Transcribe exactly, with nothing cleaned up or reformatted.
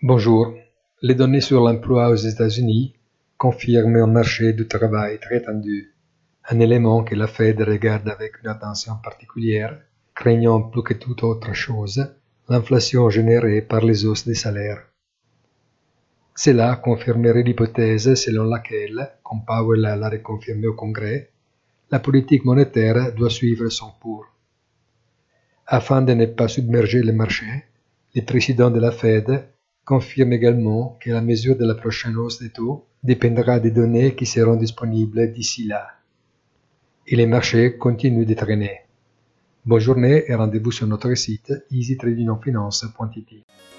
Bonjour. Les données sur l'emploi aux États-Unis confirment un marché du travail très tendu, un élément que la Fed regarde avec une attention particulière, craignant plus que toute autre chose l'inflation générée par les hausses des salaires. Cela confirmerait l'hypothèse selon laquelle, comme Powell l'a reconfirmé au Congrès, la politique monétaire doit suivre son cours. Afin de ne pas submerger le marché, le président de la Fed confirme également que la mesure de la prochaine hausse des taux dépendra des données qui seront disponibles d'ici là. Et les marchés continuent de traîner. Bonne journée et rendez-vous sur notre site easy trading finance point i t.